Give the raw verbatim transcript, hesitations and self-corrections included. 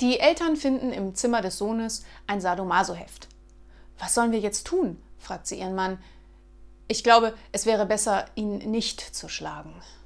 Die Eltern finden im Zimmer des Sohnes ein Sadomaso-Heft. »Was sollen wir jetzt tun?« fragt sie ihren Mann. »Ich glaube, es wäre besser, ihn nicht zu schlagen.«